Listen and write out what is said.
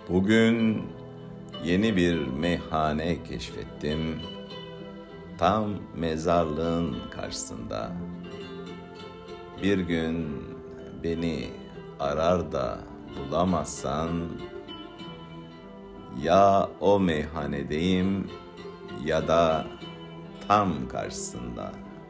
Bugün yeni bir meyhane keşfettim. Tam mezarlığın karşısında. Bir gün beni arar da bulamazsan, ya o meyhanedeyim ya da tam karşısında.